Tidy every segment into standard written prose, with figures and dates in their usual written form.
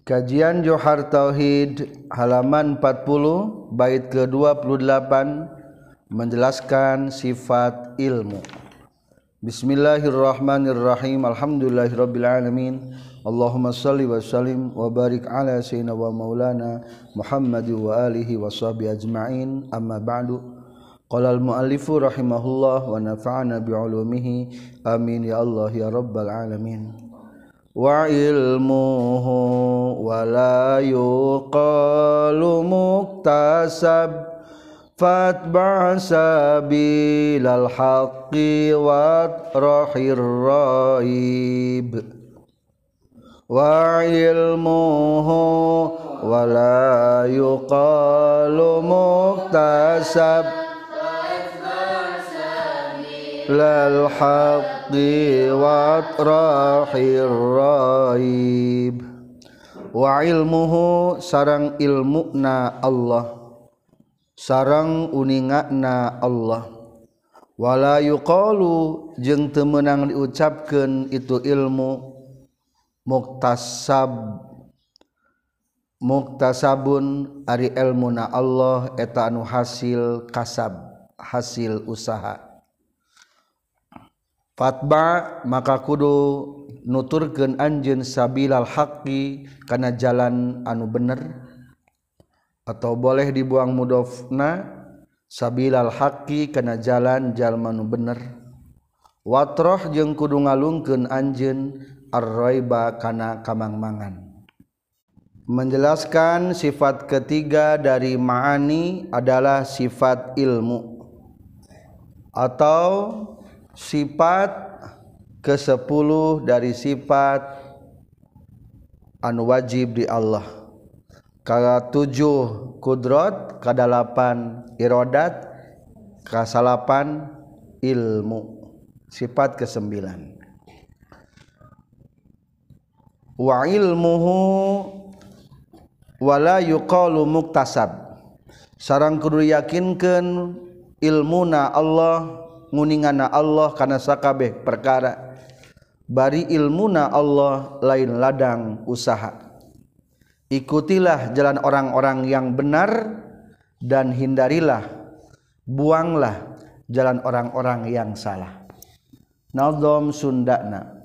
Kajian Johar Tauhid halaman 40 bait ke-28 menjelaskan sifat ilmu. Bismillahirrahmanirrahim. Alhamdulillahirabbil alamin. Allahumma shalli wa sallim wa barik ala sayyidina wa maulana Muhammad wa alihi wa sahbihi ajma'in. Amma ba'du. Qala al-muallifu rahimahullah wa nafa'ana bi 'ulumihi. Amin ya Allah ya rabbal alamin. Wa ilmuhu wa la yuqalu muktasab fatba' sabilal haqqi wa rahir raib. Wa ilmuhu wa la yuqalu muktasab lal haqqi wa rahir raib. Wa ilmuhu sarang ilmuna Allah, sarang uningana Allah. Wala yuqalu jeung teu meunang diucapkeun itu ilmu muktasab. Muktasabun ari ilmuna Allah eta anu hasil kasab, hasil usaha. Fatba maka kudu nuturkeun anjeun sabilal haqqi kana jalan anu bener, atau boleh dibuang mudhofna sabilal haqqi kana jalan jalma nu bener. Watroh jeung kudu ngalungkeun anjeun ar-raiba kana kamangmangan. Menjelaskan sifat ketiga dari ma'ani adalah sifat ilmu atau sifat ke-10 dari sifat anu wajib di Allah. Ka-7 kudrat, ka-8 iradat, ka-8 ilmu. Sifat ke-9. Wa ilmuhu wala yuqalu muktasab. Sareng kudu yakinkeun ilmuna Allah, nguningana Allah kana sakabeh perkara. Bari ilmuna Allah lain ladang usaha. Ikutilah jalan orang-orang yang benar dan hindarilah, buanglah jalan orang-orang yang salah. Nazam Sundana.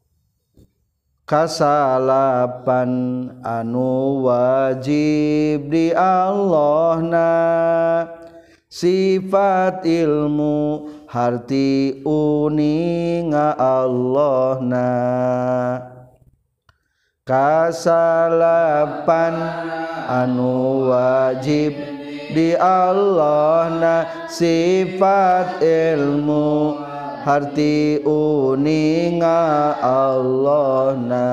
Kasalapan anu wajib di Allahna sifat ilmu harti uninga Allahna. Kasalapan anu wajib di Allahna sifat ilmu harti uninga Allahna.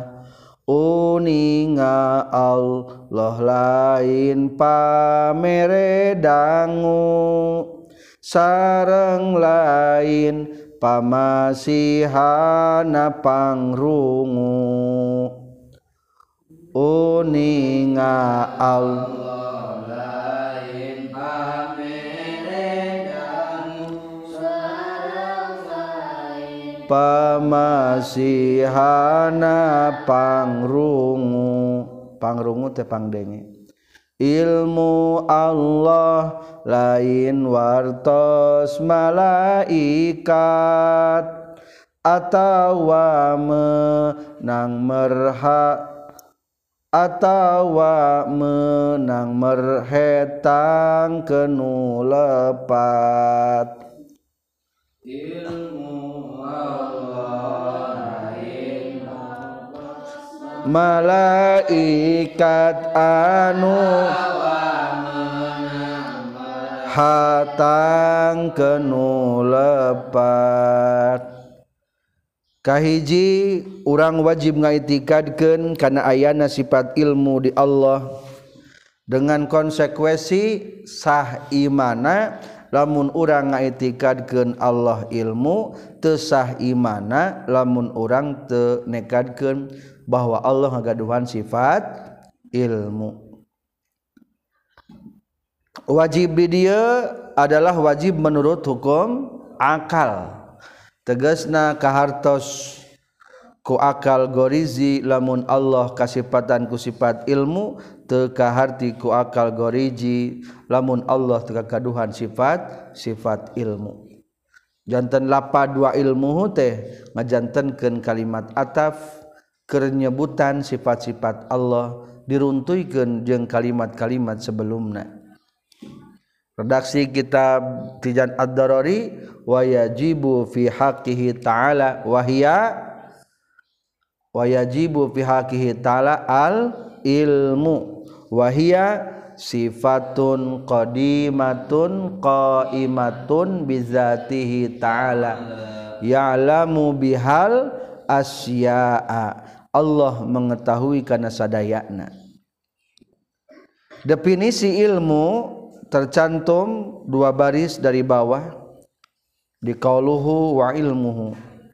Uninga Allah lain pamere dangu, sareng lain pamasihana pangrungu. Uninga Allah lain pamere dangu, sareng lain pamasihana pangrungu. Pangrungu teh pangdenge. Ilmu Allah lain wartos malaikat atawa menang merhetang kenu lepat. Ilmu Allah lain malaikat anu hatang kenu lepat. Kahiji urang wajib ngaitikadkeun kana ayana sifat ilmu di Allah dengan konsekuensi sah imana. Lamun urang ngaitikadkeun Allah ilmu, teu sah imana lamun urang teu nekadkeun bahwa Allah ngagaduhan sifat ilmu. Wajib di dieu adalah wajib menurut hukum akal. Tegasna kahartos ku akal gorizi lamun Allah kasifatan ku sifat ilmu teu kaharti ku akal goriji lamun Allah teu kakaduhan sifat ilmu. Janten lapad dua ilmu teh ngajantenkeun kalimat ataf keur nyebutan sifat-sifat Allah diruntuykeun jeung kalimat-kalimat sebelumna. Redaksi kitab Tijan Ad-Darari wa yajibu fi haqqihi ta'ala wa yajibu fi haqqihi ta'ala al ilmu wa hiya sifatun qadimatun qaimatun bizatihi ta'ala ya'lamu bihal asya'a. Allah mengetahui kana sadayana. Definisi ilmu tercantum dua baris dari bawah di qauluhu wa ilmuhu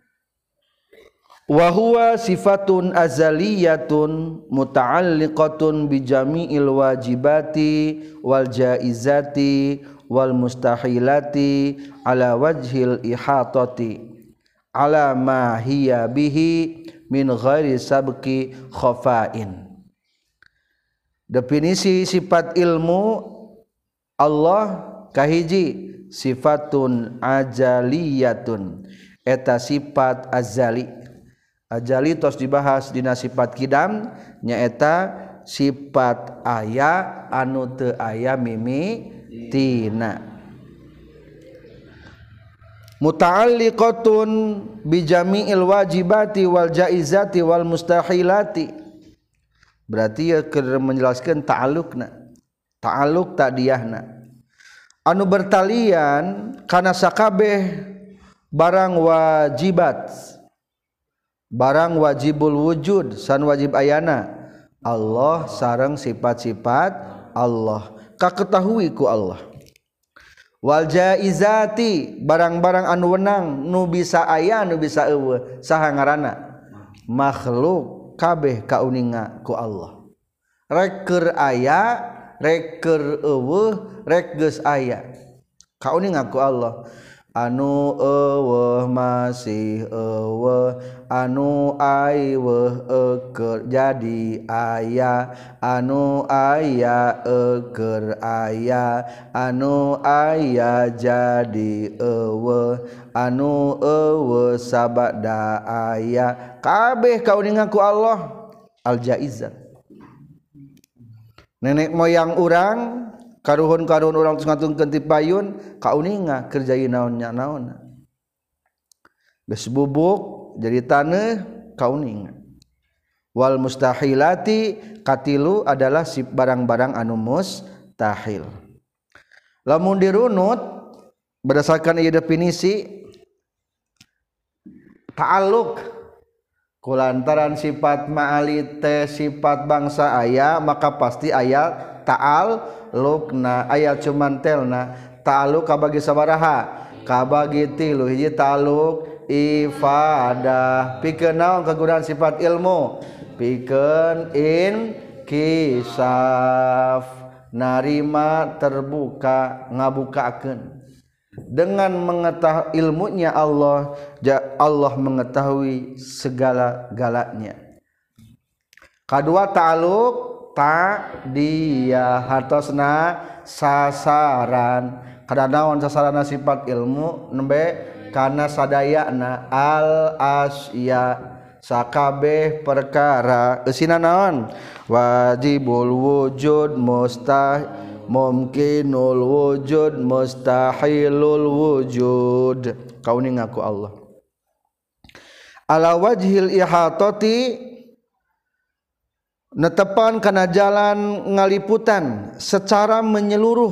wa huwa sifatun azaliyatun muta'alliqatun bi jami'il wajibati wal jaizati wal mustahilati ala wajhil ihatati ala ma hiya bihi min ghairi sabqi khafa'in. Definisi sifat ilmu Allah kahiji sifatun ajaliyatun eta sifat azali. Ajali tos dibahas dina sifat kidam nyaeta sifat aya anu teu aya mimitina. Muta'alliqatun bi jami'il wajibati wal jaizati wal mustahilati. Berarti ya keur menjelaskeun ta'alluqna. Ta'alluq ta'diyahna anu bertalian kana sakabeh barang wajibat barang wajibul wujud san wajib ayana Allah sareng sifat-sifat Allah kaketahui ku Allah. Wal jaizati barang-barang anu wenang nu bisa aya nu bisa eueuh saha ngaranna makhluk kabeh kauninga ku Allah rek keur aya rek keur eueuh rek geus aya kauninga ku Allah anu eueuh masih eueuh anu aiweuh keur jadi aya anu aya keur aya anu aya jadi eueuh anu eueuh sabada aya kabeh kauninga ku Allah al jaizat. Nenek moyang urang karuhun-karuhun urang tos ngatungkeun ti payun kauninga keur jadi naonnya naonna geus bubuk jadi taneuh kauninga. Wal mustahilati katilu adalah si barang-barang anu mustahil. Lamun dirunut berdasarkan ieu definisi ta'alluq kulantaran sifat ma'ali teh sifat bangsa aya maka pasti aya ta'alluqna aya cuman telna ta'alluq kabagi sabaraha kabagi tilu hiji ta'alluq ifadah pikeun naon kagunaan sifat ilmu pikeun inkisaf narima terbuka ngabukakeun. Dengan mengetahui ilmunya Allah mengetahui segala-galanya. Kadua ta'alluq ta'diyah hartosna sasaran kada naon sasaranna sifat ilmu nembe kana sadayana al asya sakabeh perkara eusina naon wajibul wujud mumkinul wujud mustahilul wujud kauninga ku Allah ala wajhil ihatati netepan kana jalan ngaliputan secara menyeluruh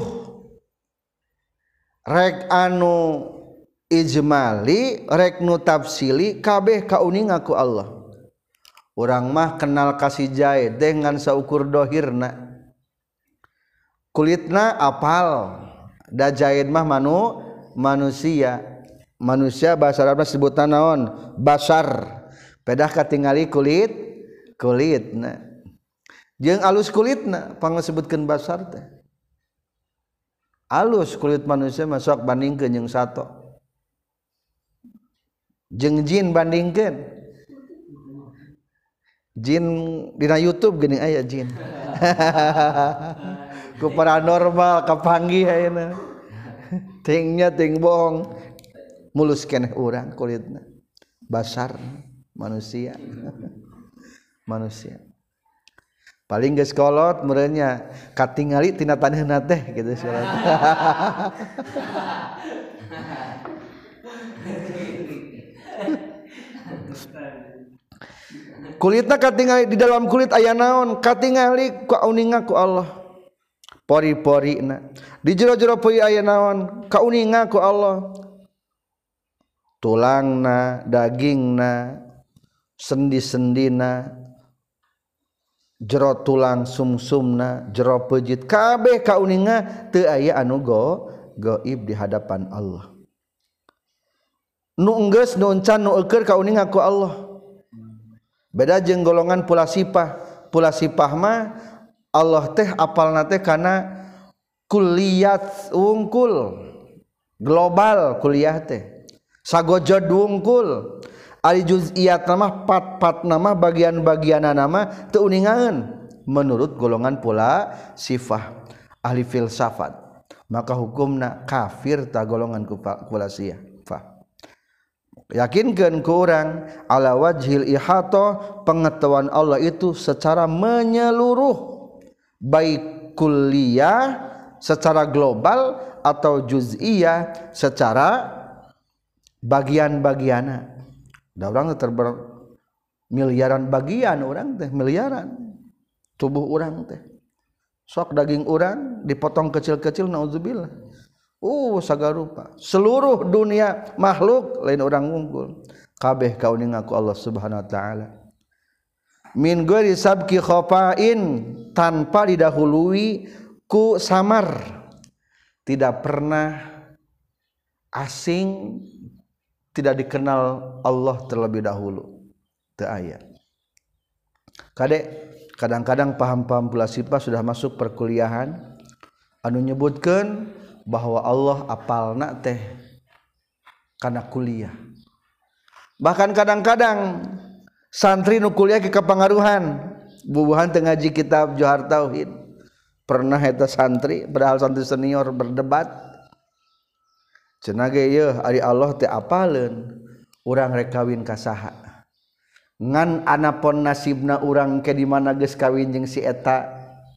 rek anu ijmali rek nu tafsili kabeh kauninga ku Allah. Urang mah kenal kasih jae dengan saukur dohirna kulitna apal da jahid mah manusia bahasa Arabna sebutan naon basar pedah katingali kulitna jeung alus kulitna pangasebutkeun basar teh alus kulit manusia masuk bandingkeun jeung sato jeung jin bandingkeun jin dina YouTube geuning aya jin ku paranormal kapanggih ayeuna tingnya ting bohong mulus keneh urang kulitna basar manusia manusia paling geus kolot meureunnya katingali tina taneuhna teh kitu salat kulitna katingali di dalam kulit aya naon katingali ku uninga ku Allah pori-porina di jero-jero pori aya naon kauninga ku Allah tulangna dagingna sendi-sendina jero tulang sumsumna jero peujit kabeh kauninga teu aya anu gaib di hadapan Allah nu enggeus nu encan nu eukeur kauninga ku Allah beda jeung golongan pula sifah mah Allah teh apalna teh kana kulliyat wungkul global kuliah teh sagojod wungkul ari juz'iyat mah pat nama bagian-bagianna nama teu uningaeun menurut golongan pula sifah ahli filsafat maka hukumna kafir ta golongan pula sifah yakinkeun ku urang ala wajhil ihata pengetahuan Allah itu secara menyeluruh baik kulliyah secara global atau juz'iyah secara bagian-bagianna da urang teh miliaran bagian urang teh miliaran tubuh urang teh sok daging urang dipotong kecil-kecil naudzubillah sagarupa seluruh dunia makhluk lain orang unggul kabeh kauninga ku Allah Subhanahu wa taala min ghairi sabqi khafa'in tanpa didahului ku samar tidak pernah asing tidak dikenal Allah terlebih dahulu teu aya kadek kadang-kadang paham-paham pula sifat sudah masuk perkuliahan anu nyebutkeun bahwa Allah apalna teh kana kuliah bahkan kadang-kadang santri nu kuliah ke kapangaruhan bubuhan teu ngaji kitab Johar Tauhid pernah eta santri padahal santri senior berdebat cenah ge yeuh ari Allah teh apaleun urang rek kawin ka saha ngan anapun nasibna urang ke di mana geus kawin jeung si eta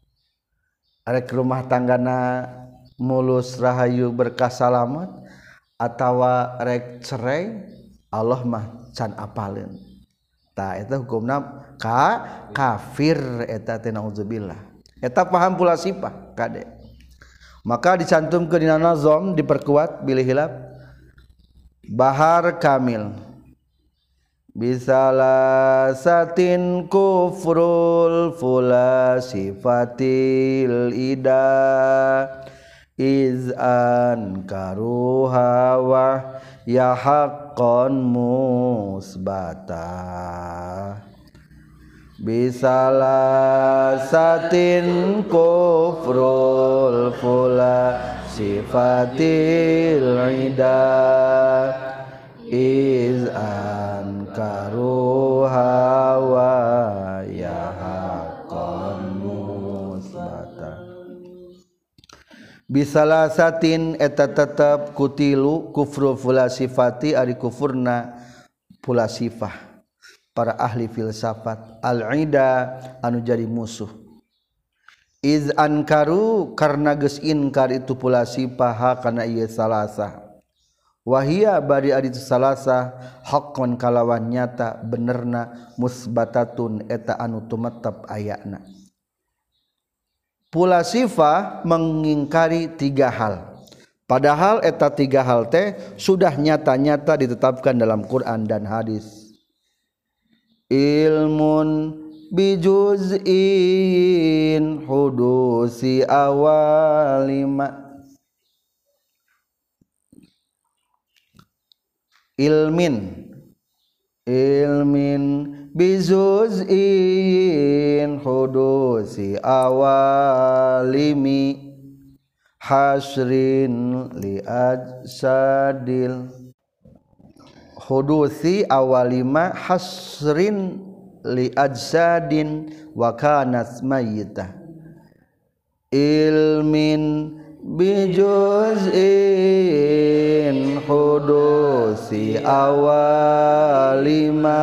rek rumah tanggana mulus rahayu berkah salamet atawa rek cerai Allah mah can apaleun tah eta hukumna kafir eta teh naudzubillah eta paham pula sifat kade maka dicantumkeun dina nazam diperkuat bilih hilap bahar kamil bisalasatin kufrul fula sifatil ida izan karuha wa ya haqqan musbata bisalasatin kufrul fula sifatil ida izan karuha wa ya haqqan musbata bisalasatin eta tetep kutilu kufru fula sifati ari kufurna pula sifah para ahli filsafat al-ida anu jadi musuh iz ankaru karna geus inkar itu pula sifah kana ieu salasa wahia bari ari salasa haqqan kalawan nyata benerna musbatatun eta anu tumetep ayana pula sifah mengingkari tiga hal padahal eta tiga hal teh sudah nyata-nyata ditetapkan dalam Quran dan hadis ilmun bijuz'in hudusi awalima ilmin bizuz'in hudusi awalimi hasrin li ajsadil hudusi awalima hasrin li ajsadin wa kanat mayyitah ilmin bijuz'in hudusi awalima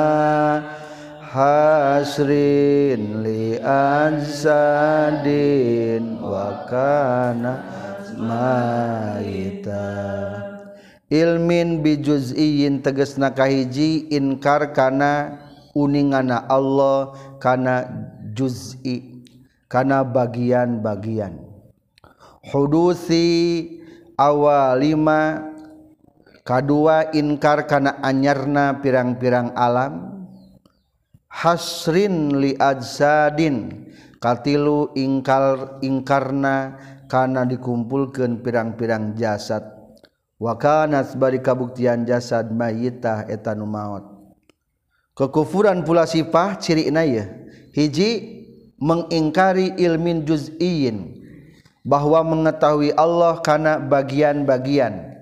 hasrin li ajsadin wa kana maita ilmin bijuz'in tegasna kahiji inkar kana uningana Allah kana juz'i kana bagian-bagian hudusi awalima kadua inkar kana anyarna pirang-pirang alam hasrin li ajsadin katilu ingkarna kana dikumpulkeun pirang-pirang jasad wa kana bari kabuktian jasad mayyitah eta nu maot kekufuran pula sifah cirina ye hiji mengingkari ilmin juz'iyyin bahwa mengetahui Allah kana bagian-bagian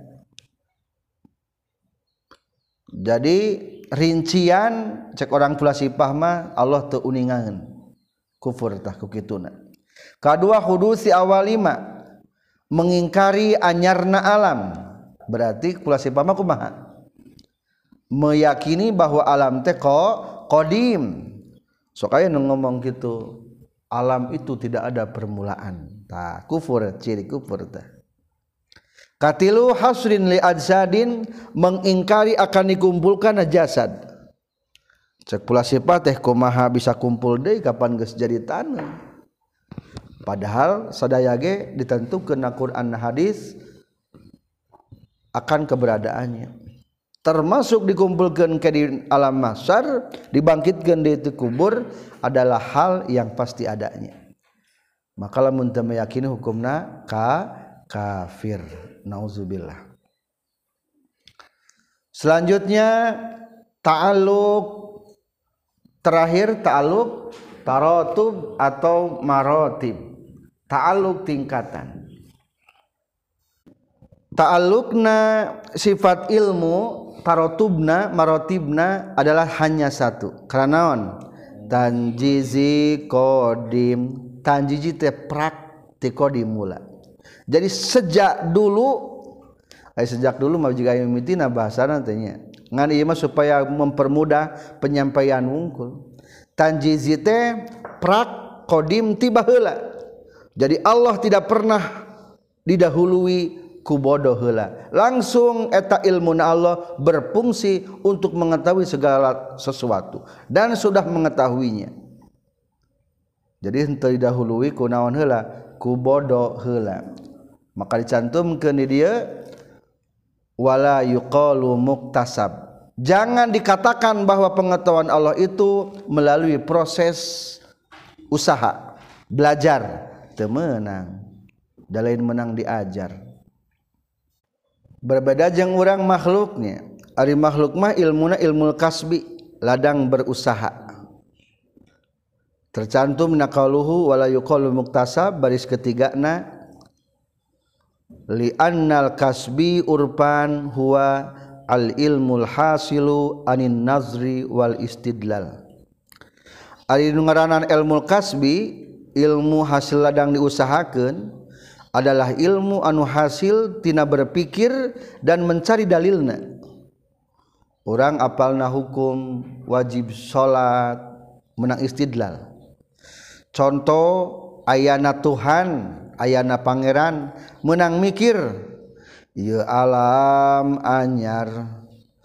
jadi rincian cek orang pula sifah mah Allah teu uningaeun kufur tah ku kituna kadua hudusi awalima mengingkari anyarna alam berarti pula sifah mah kumaha meyakini bahwa alam teh qadim sok aya nu ngomong kitu alam itu tidak ada permulaan tah kufur ciri kufur tah katilu hasrin li ajsadin mengingkari akan dikumpulkan jasad cek pula sifat teh kumaha bisa kumpul deui kapan geus jadi taneuh padahal sadaya ge ditentukeun na Quran hadis akan keberadaannya termasuk dikumpulkan ke di alam mahsyar dibangkitkan di kubur adalah hal yang pasti adanya maka lamun teu meyakini hukumna kafir nauzubillah. Selanjutnya ta'alluq terakhir ta'alluq taratub atau maratib. Ta'alluq tingkatan. Ta'alluqna sifat ilmu taratubna maratibna adalah hanya satu. Karena naon? Tanjizi qadim. Tanjizi teh praktik qadim mula. Jadi sejak dulu mah jika mimitina bahasana teh nya ngan ieu mah supaya mempermudah penyampaian wungkul tanjizi teh prak qadim tiba heula jadi Allah tidak pernah didahului ku bodoh heula langsung eta ilmuna Allah berfungsi untuk mengetahui segala sesuatu dan sudah mengetahuinya jadi henteu didahului ku naon heula ku bodoh heula maka dicantumkeun di dieu wala yuqalu muktasab jangan dikatakan bahwa pengetahuan Allah itu melalui proses usaha belajar teu meunang da lain menang diajar berbeda jeung urang makhluknya ari makhluk mah ilmuna ilmul kasbi ladang berusaha tercantum naqaluhu wala yuqalu muktasab baris ketigana li annal kasbi urpan huwa al ilmul hasilu anin nazri wal istidlal ari nu ngaranan ilmul kasbi ilmu hasil ladang diusahakeun adalah ilmu anu hasil tina berpikir dan mencari dalilna urang apalna hukum wajib salat menang istidlal contoh ayana Tuhan ayana pangeran menang mikir ieu alam anyar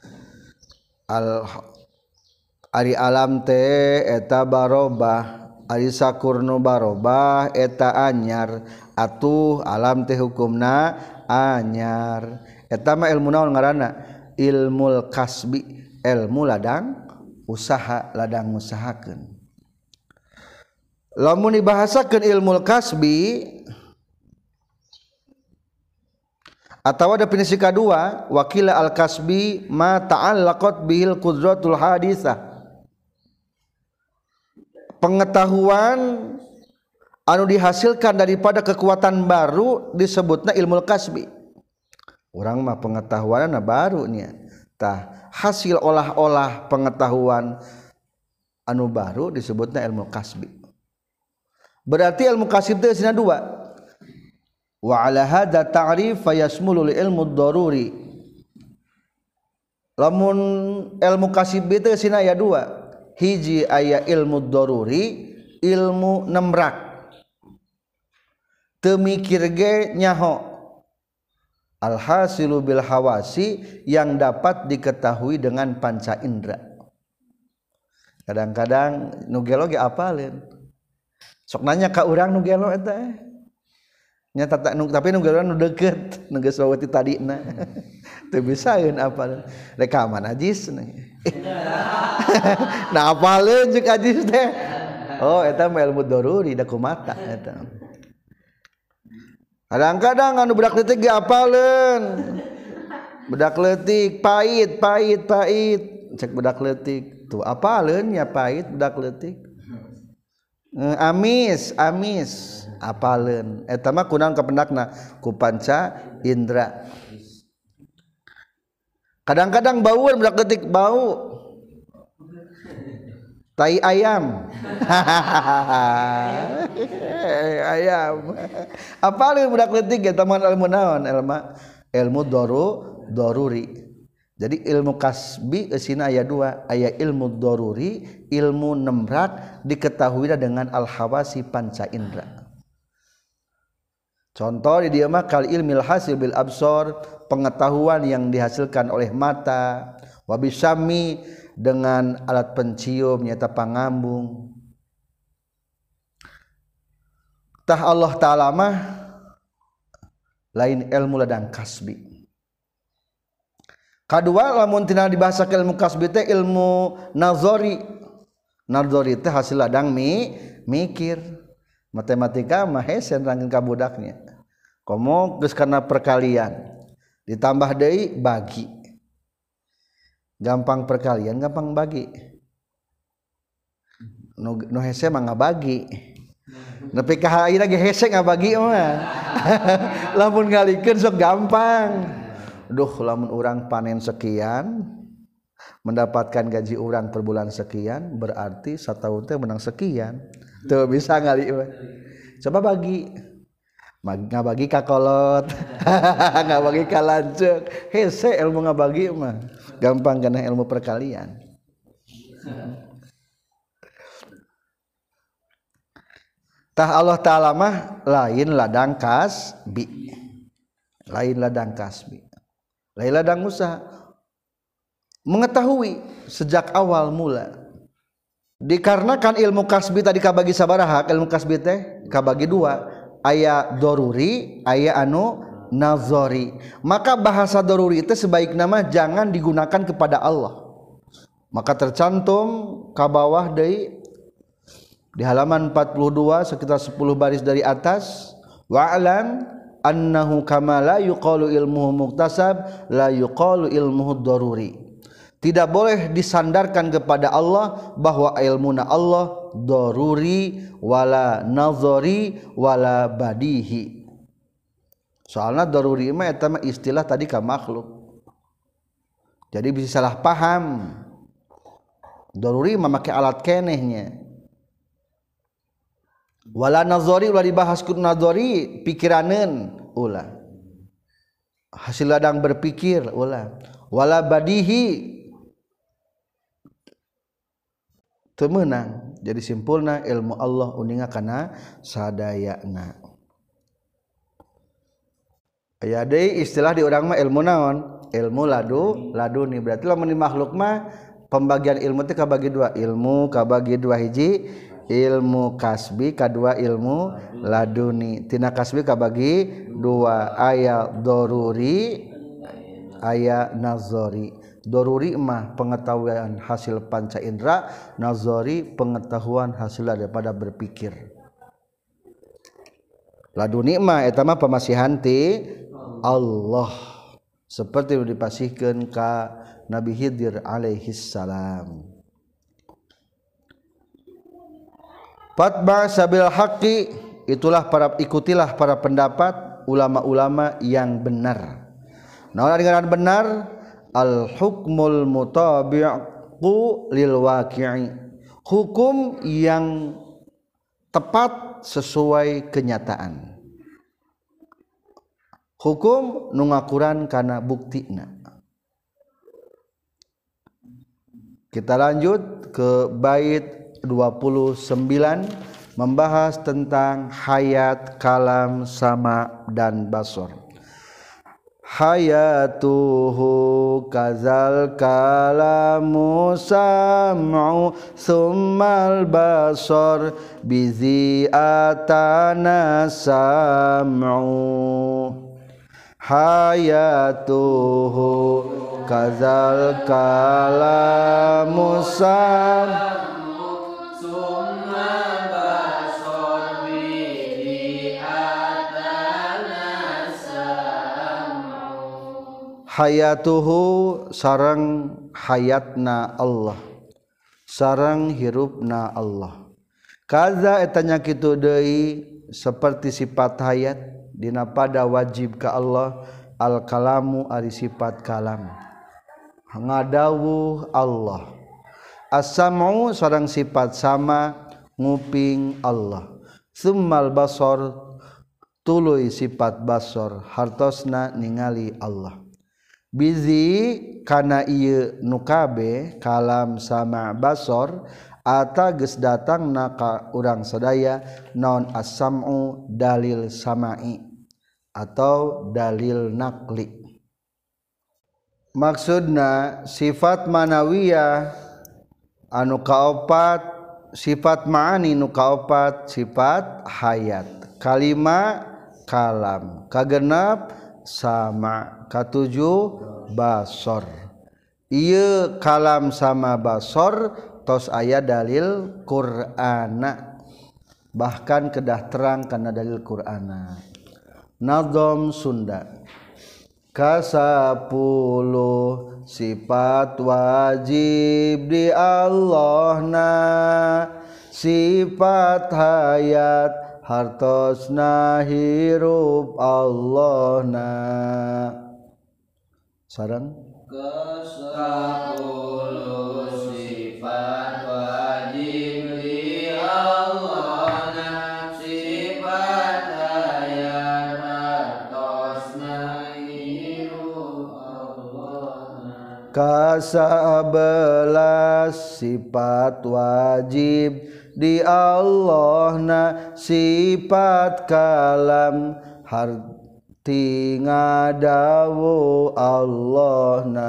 ari alam teh eta barobah ari sakurnu barobah eta anyar atuh alam teh hukumna anyar eta mah ilmu naon ngaranna ilmul kasbi ilmu ladang usaha ladang ngusahakeun lamun dibahasakeun ilmul kasbi atawa definisi kedua wakila al kasbi ma ta'allaqat bihil qudratul hadisah pengetahuan anu dihasilkan daripada kekuatan baru disebutna ilmul kasbi urang mah pengetahuanna baru nya tah hasil olah-olah pengetahuan anu baru disebutna ilmu kasbi. Berarti ilmu kasib teh sina dua. Wa ala hadza ta'rif fayasmulu ilmu daruri. Lamun ilmu kasib teh sina aya dua. Hiji aya ilmu daruri, ilmu nemrak. Teu mikir ge nyaho. Al-hasilu bil hawasi yang dapat diketahui dengan panca indera. Kadang-kadang nu gelo ge apaleun. Sok nanya ka urang nu gelo eta. Nya tapi nu gelo nu deukeut, nu geus waweuti tadina. Teu bisaeun apaleun. Rek ka mana ajis. Nah apaleun ceuk ajis teh. Oh eta mah ilmu daruri da kumata eta. Kadang-kadang anu budak leutik ge apaleun. Budak leutik pait cek budak leutik tuh apaleun nya pait budak leutik. Amis apaleun eta mah kunaon kapendakna ku panca indra. Kadang-kadang baueun budak leutik bau tai ayam. Ayam. Apalin budak leutik eta mah ilmu naon? Ilmu daruri. Jadi ilmu kasbi eusina aya dua, aya ilmu daruri, ilmu nemrak diketahui dengan al-hawasi panca indra. Contoh di dieu mah kal ilmil hasil bil absar, pengetahuan yang dihasilkan oleh mata, wa bisami dengan alat pencium nyata pangambung. Tah Allah Ta'ala mah lain ilmu ladang kasbi. Kadua lamun tina dibahasa ke ilmu kasbi teh ilmu nazari. Nazari teh hasil ladang mikir. Matematika mah hese nerangkeun ka budaknya. Komo geus kana perkalian. Ditambah deui bagi. Gampang perkalian, gampang bagi. Nu hese mah ngabagi. Nepi ka ayeuna ge hese ngabagi mah. Lamun ngalikeun sok gampang. Duh lamun urang panen sekian mendapatkan gaji urang per bulan sekian berarti satahun teh menang sekian. Teu bisa ngali mah. Coba bagi. Ngabagi ka kolot. Ngabagi ka lanceuk. Hese ilmu ngabagi mah. Gampang kana ilmu perkalian. Tah Allah Ta'ala mah lain ladang kasbi. Lain ladang kasbi. Lain ladang usaha. Mengetahui sejak awal mula. Dikarenakan ilmu kasbi tadi kabagi sabaraha, ilmu kasbi teh kabagi dua. Aya daruri, aya anu nazari. Maka bahasa daruri itu sebaiknya mah jangan digunakan kepada Allah. Maka tercantum ka bawah deui di halaman 42 sekitar 10 baris dari atas, wa'lam annahu kama la yuqalu ilmuhu muktasab la yuqalu ilmuhu daruri. Tidak boleh disandarkan kepada Allah bahwa ilmuna Allah daruri wala nazari wala badihi. Soalnya daruri mah eta mah istilah tadi ka makhluk. Jadi bisa salah paham. Daruri mah make alat kenehnya. Wala nazari ulah dibahas ku nazari pikiraneun ulah. Hasil ladang berpikir ulah. Wala badihi teu meunang. Jadi simpulna ilmu Allah uninga kana sadayana. Aya deui istilah di urang mah ilmu naon? Ilmu laduni. Berarti lamun di makhluk mah pembagian ilmu teh kabagi dua. Ilmu kabagi dua, hiji ilmu kasbi, kadua ilmu laduni. Tina kasbi kabagi dua, aya daruri, aya nazari. Daruri mah pengetahuan hasil panca indera, nazari pengetahuan hasil daripada berpikir. Laduni mah eta mah pamasihan ti Allah. Seperti dipasihkeun ka Nabi Khidir alaihi salam. Fatba sabil haqqi, ikutilah para pendapat ulama-ulama yang benar. Naon dengan benar? Al hukmul mutabi'u lil waqi'i, hukum yang tepat sesuai kenyataan, hukum nu ngakuran kana buktina. Kita lanjut ke bait 29 membahas tentang hayat, kalam, sama dan basor. Hayatuhu kazal kalamu sam'u summal basor bizi atana sam'u. Hayatuhu kazal kalamu sam'u hayatuhu sareng hayatna Allah, sareng hirupna Allah. Kaza etanya kitu deui seperti sifat hayat dina pada wajib ka Allah al kalamu ari sifat kalam. Ngadawuh Allah. As-sam'u sareng sifat sama nguping Allah. Summal basor tuluy sifat basor hartosna ningali Allah. Bizi kana ieu nu kabeh kalam sama basor ata geus datangna ka urang sadaya naon as-sam'u dalil sama'i atau dalil naqli. Maksudna sifat manawiyah anu kaopat, sifat ma'ani nu kaopat sifat hayat, kalima kalam, kagenep sama, katujuh basor. Ieu kalam sama basor tos aya dalil Qur'ana, bahkan kedah terang kana dalil Qur'ana. Nazom Sunda kasapuluh sifat wajib di Allahna, sifat hayat hartosna hirup Allahna. Sareng kesapuluh sifat wajib di Allahna, sifat hayat hartosna hirup Allahna. Kasabelas sifat wajib di Allahna, sifat kalam harti ngadawu Allahna.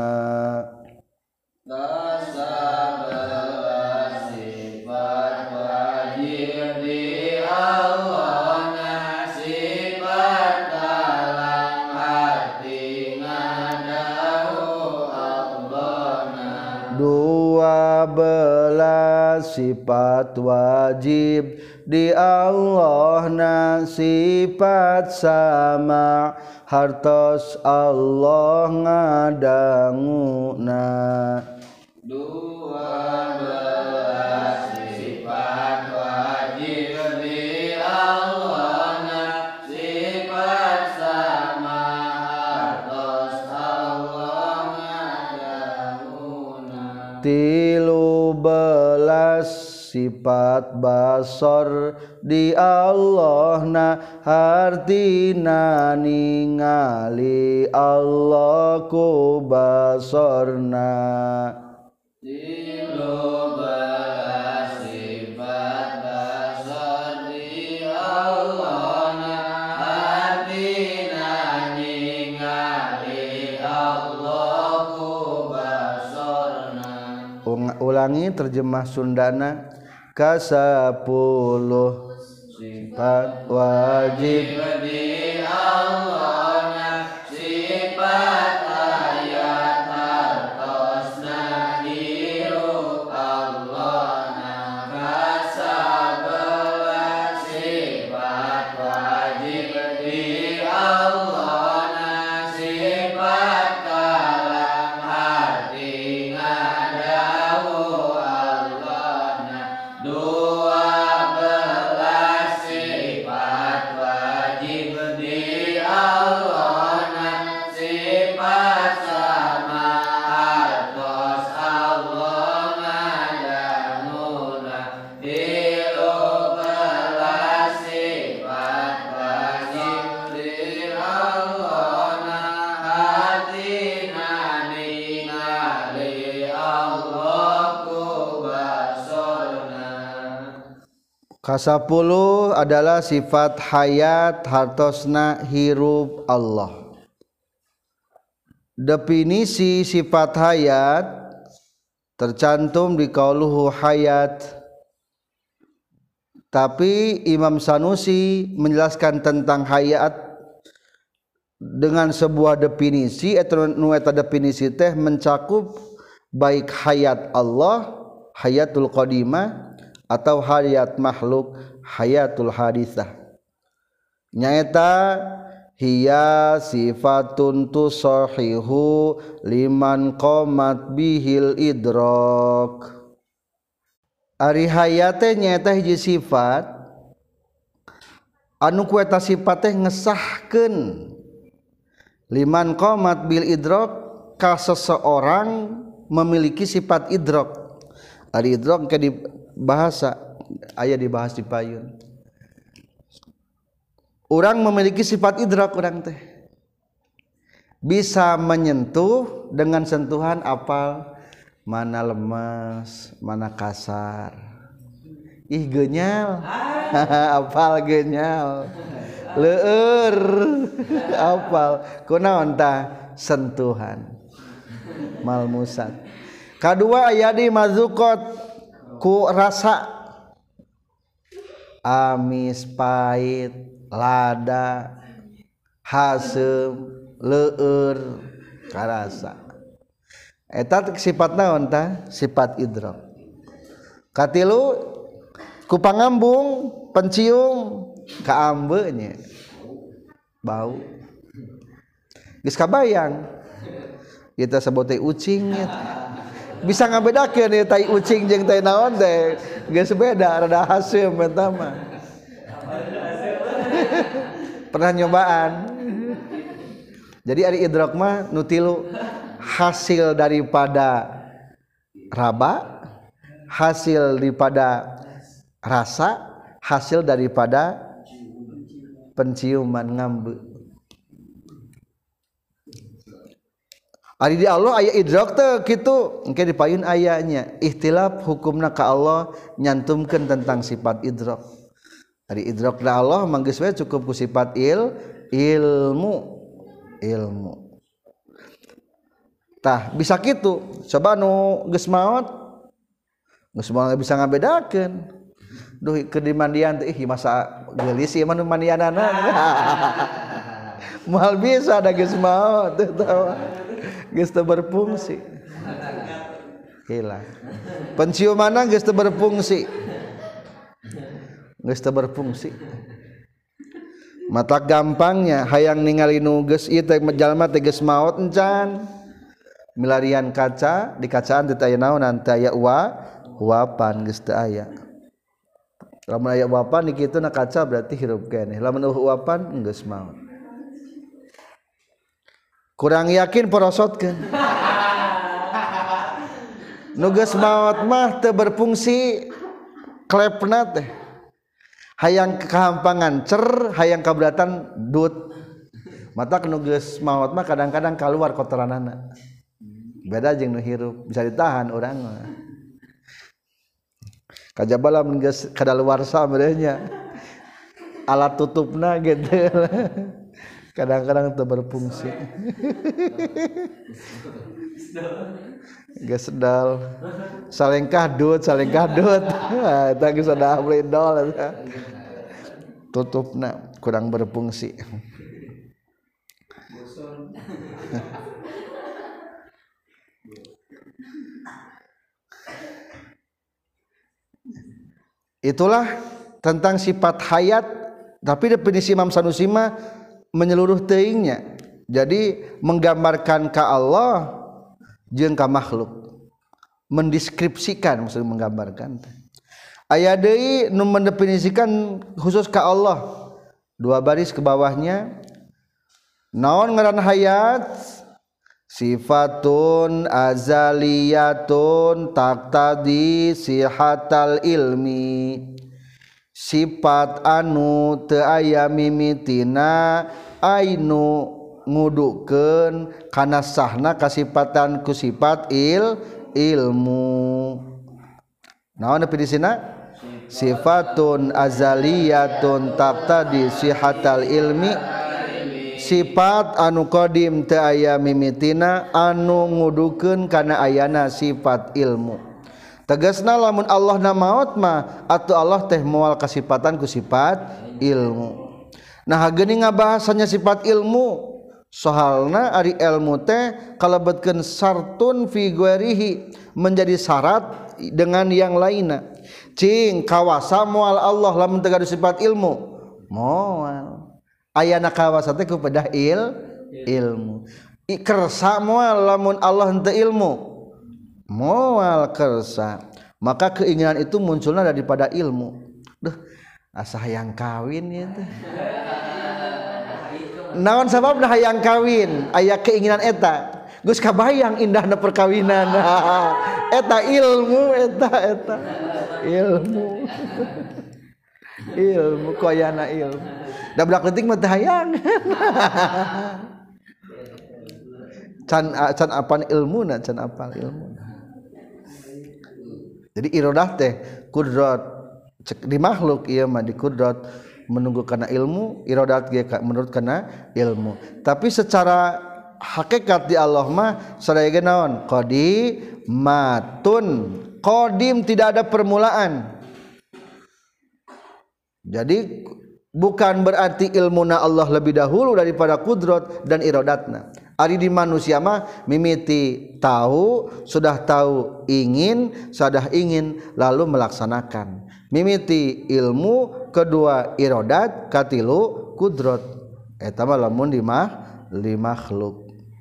Kasabelas sifat wajib di Allahna, sifat kalam harti ngadawu Allahna. 12 sifat wajib di Allahna, sifat sama hartos Allah ngadanguna. 12 sifat wajib di Allahna, sifat sama hartos Allah ngadanguna. 13 sifat basor di Allahna, hartina ningali Allah ku basorna. 13 sifat basor di Allahna, hartina ningali Allah ku basorna. Ulangi terjemah Sundana. Kasapuluh sifat wajib di Allahna, sifat hayat hartosna hirup Allahna. Kasabelas sifat wajib di Allahna, sifat kalam harti ngadawu Allahna. 12 sifat wajib Kasapuluh adalah sifat hayat hartosna hirup Allah. Definisi sifat hayat tercantum di qauluhu hayat. Tapi Imam Sanusi menjelaskan tentang hayat dengan sebuah definisi atau nu eta definisi teh mencakup baik hayat Allah, hayatul qadimah atau hayat makhluk, hayatul haditsah. Nyaeta hiya sifatun tusahihu liman qamat bihil idrak. Ari hayat teh nyaeta hiji sifat anu ku eta sifat teh ngesahkeun liman qamat bil idrak ka seseorang memiliki sifat idrak. Ari idrak ke di bahasa aya dibahas di payun. Orang memiliki sifat idrak orang teh bisa menyentuh dengan sentuhan apal mana lemas, mana kasar. Ih genyal. Apal genyal. Leur. Apal. Kunaon tah sentuhan. Malmusat. Kadua aya di mazukot ku rasa amis, pahit, lada, hasem, leur, karasa. Eta sifat naon tah? Sifat idrak. Katilu ku pangambung, pencium, kaambe nya. Bau. Geus kabayang. Kita sebut teh ucing nya. Bisa ngabedakeun ieu tai ucing jeung tai naon teh. Geus beda, rada hasem eta mah. Pernah nyobaan. Jadi ari idrak mah nu tilu hasil daripada raba, hasil daripada rasa, hasil daripada penciuman ngambe. Ari di Allah aya idrak teh kitu, engke di payun ayanya ikhtilaf hukumna ka Allah nyantumkeun tentang sifat idrak. Ari idrak da Allah manggeus we cukup ku sifat ilmu. Tah bisa kitu. Coba nu geus maot bisa ngabedakeun. Duh keur di mandian teh masa geulis ieu mah nu mandianana. Moal bisa da geus maot teh tawa. Geus teu berfungsi. Hilang. Penciumanna geus teu berfungsi. Geus teu berfungsi. Mata gampangnya hayang ningali nu geus ieu teh jalma teh geus maot encan. Milarian kaca, di kacaan teh aya naon teh aya uapan geus teu aya. Lamun aya uapan di kituna kaca berarti hirup keneh. Lamun uapan geus maot. Kurang yakin porosotkeun. Nu geus maot mah teu berfungsi klepna teh. Hayang kehampangan cer, hayang kaberatan dut. Mata nu geus maot mah kadang-kadang kaluar kotoranana. Beda jeung nu hirup, bisa ditahan urang mah. Kajaba lamun geus kadaluarsa meureun nya. Alat tutupna gitu. Kadang-kadang teu berfungsi. Geus sedal. Salengkah dut. Eta geus ada blendol eta. Tutupna kurang berfungsi. Itulah tentang sifat hayat, tapi definisi Imam Sanusi mah menyeluruh teuingnya. Jadi menggambarkan ka Allah jeung ka makhluk. Mendeskripsikan maksudnya menggambarkan. Aya deui nu mendefinisikan khusus ka Allah. 2 baris ke bawahnya. Naon ngaran hayat? Sifatun azaliyatun taqtadi sihatal ilmi. Sifat anu teu aya mimitina ainu ngudukeun kana sahna kasifatan ku sifat ilmu. Naon definisina? sifatun azaliyatun taqtadi sihatal ilmi sifat anu qadim teu aya mimitina anu ngudukeun kana ayana sifat ilmu tegasna lamun Allah na maot mah atuh Allah teh moal kasifatan ku sifat ilmu. Nah geuning ngabahasanya sifat ilmu soalna ari ilmu teh kalebetkeun sartun fi ghairihi menjadi syarat dengan yang lainna. Cing kawasa moal Allah lamun teu gaduh sifat ilmu moal ayana kawasa teh ku pedah ilmu kersa moal lamun Allah henteu ilmu moal kersa maka keinginan itu munculna daripada ilmu. Duh asa hayang kawin ya teh naon sababna hayang kawin aya keinginan eta geus kabayang indahna perkawinan eta ilmu eta ilmu ilmu koyana ilmu da budak leutik mah teu hayang can apal ilmuna can apal ilmuna. Jadi iradah teh kudrat di makhluk ieu mah di kudrat menunggu kana ilmu iradat ge menurut kana ilmu tapi secara hakikat di Allah mah sadaya ge naon qadimatun qadim tidak ada permulaan. Jadi bukan berarti ilmuna Allah lebih dahulu daripada kudrat dan iradatna. Ari di manusia mah mimiti tahu sudah tahu ingin sudah ingin lalu melaksanakan. Mimiti ilmu kedua iradat katilu kudrat eta mah lamun di makhluk.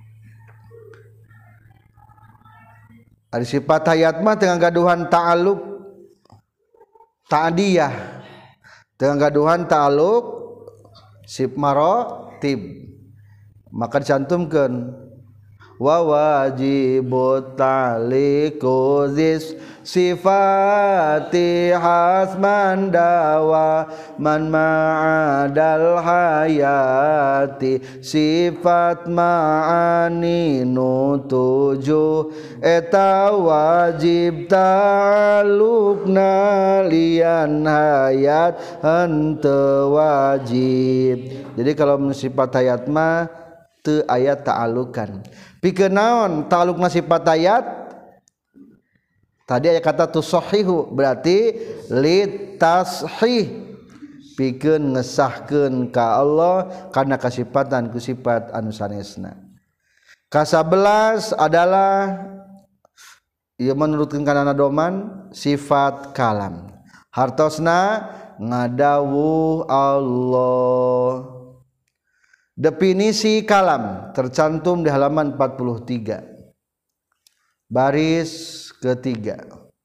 Ari sifat hayat mah teu ngagaduhan ta'alluq ta'diyah teu ngagaduhan ta'alluq sif maratib maka dicantumkeun wa wajibut ta'liqu zis sifati hasman dawa man ma'adal hayati sifat ma'ani nutuju eta wajib ta'alluqna lian hayat henteu wajib. Jadi kalau sifat hayat mah teu aya ta'alukan. Pikeun naon ta'alukna sifat hayat? Tadi aya kata tusahihu berarti litashih pikeun ngesahkeun ka Allah kana kasifatan ku sifat anu sanesna. Ka-11 adalah ieu menurutkeun kana nadoman sifat kalam. Hartosna ngadawuh Allah. Definisi kalam tercantum di halaman 43 baris ketiga.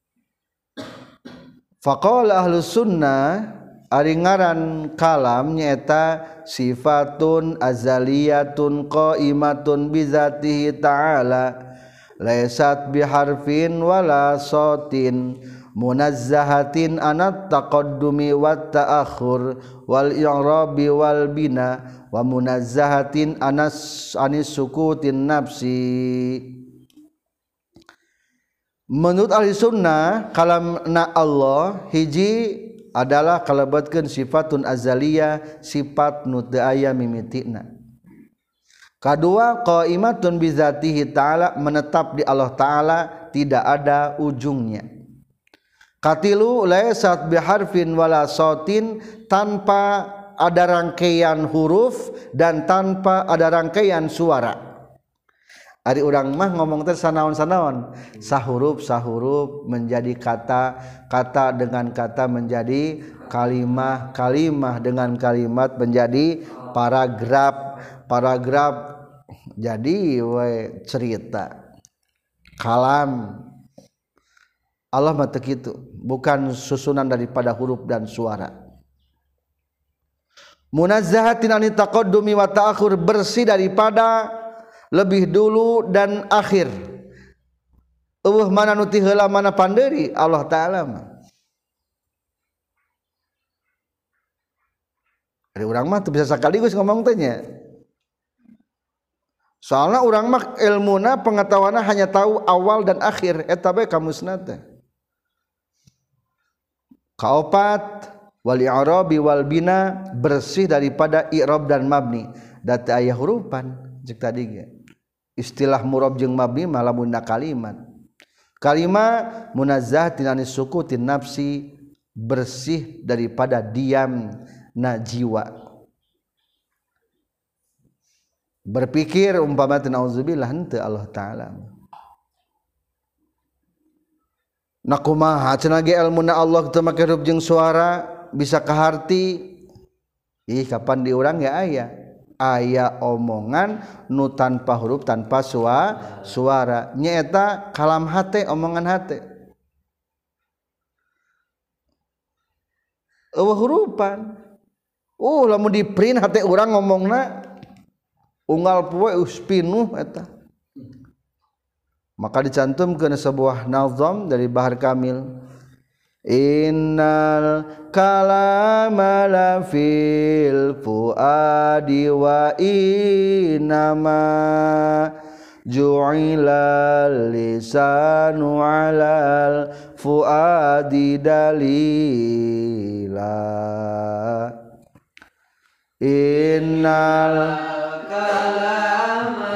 Faqala ahlus sunnah ari ngaran kalam nyaeta sifatun azaliyatun qaimatun bizatihi ta'ala laysat biharfin wala sautin munazzahatin anat taqaddumi wat ta'akhur wal i'rabi wal bina wa munazzahatin anis sukutin nafsi. Menurut ahli sunnah kalamna Allah hiji adalah kalabatkeun sifatun azaliyah sifat nu teu aya mimitina. Kadua qaimatun bizatihi ta'ala menetap di Allah Ta'ala tidak ada ujungnya. Katilu laysat biharfin wala sautin tanpa ada rangkaian huruf dan tanpa ada rangkaian suara. Ari urang mah ngomong teh sanaon-sanaon, sahuruf menjadi kata dengan kata menjadi kalimah dengan kalimat menjadi paragraf jadi we cerita. Kalam Allah mah teu kitu, bukan susunan daripada huruf dan suara. Munazzahatin anit taqaddumi wa ta'akhur bersih daripada lebih dulu dan akhir. Eueuh mana nu ti heula mana pandeuri Allah Ta'ala mah. Ari urang mah teu bisa sakaligus ngomong teh nya. Soalna urang mah ilmuna pengetahuanna hanya tahu awal dan akhir eta bae kamusna teh. Kaopat wal i'rabi wal bina bersih daripada i'rab dan mabni data aya hurufan cek tadi ge istilah murab jeung mabni mah lamunna kalimat munazzah tinani sukutin nafsi bersih daripada diam na jiwa berpikir umpama nauzubillah henteu Allah taala na kumaha cenah ge ilmuna Allah teu make huruf jeung suara bisa kaharti ih kapan di urang ya aya omongan nu tanpa huruf tanpa suara nyaeta kalam hate omongan hate eueuh hurufan lamun di print hate urang ngomongna unggal poe pinuh eta maka dicantumkeun sebuah nazam dari Bahar Kamil innal kalama la fil fuadi wa inama ju'ila lisanu alal fuadi dalila innal kalama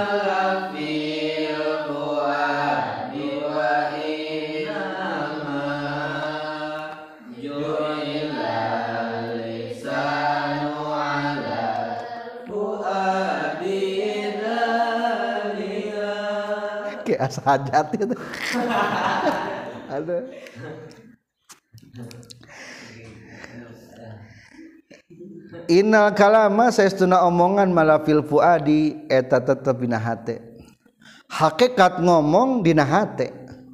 hajat itu ada innal kalama saestuna omongan malafil fuadi eta tetep dina hate hakikat ngomong dina hate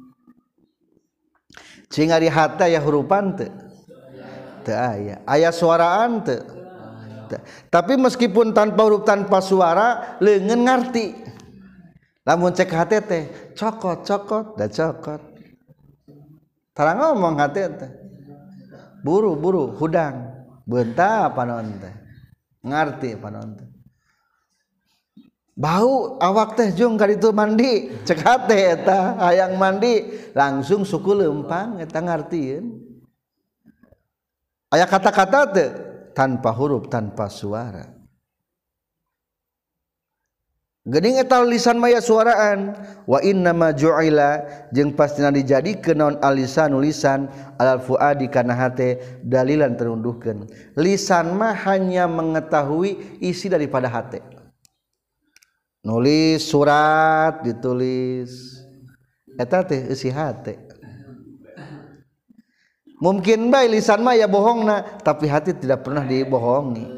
cing ari hate aya hurufan teu aya suaraan teu tapi meskipun tanpa huruf tanpa suara leungeun ngarti lamun cek hate teh cokot da cokot tara ngomong hate teh buru hudang beunta panon teh ngarti panon teh bau awak teh jung ka ditu mandi cek hate eta hayang mandi langsung suku leumpang eta ngartieun aya kata-kata teh tanpa huruf tanpa suara geuning eta lisan maya suaraan wa inna ma ju'ila jeung pastina dijadikeun naon alisanu lisan alal fuadi kana hate dalilan terunduhkeun lisan mah hanya mengetahui isi daripada hate nulis surat ditulis eta teh isi hate mungkin bae lisan mah ya bohongna tapi hati tidak pernah dibohongi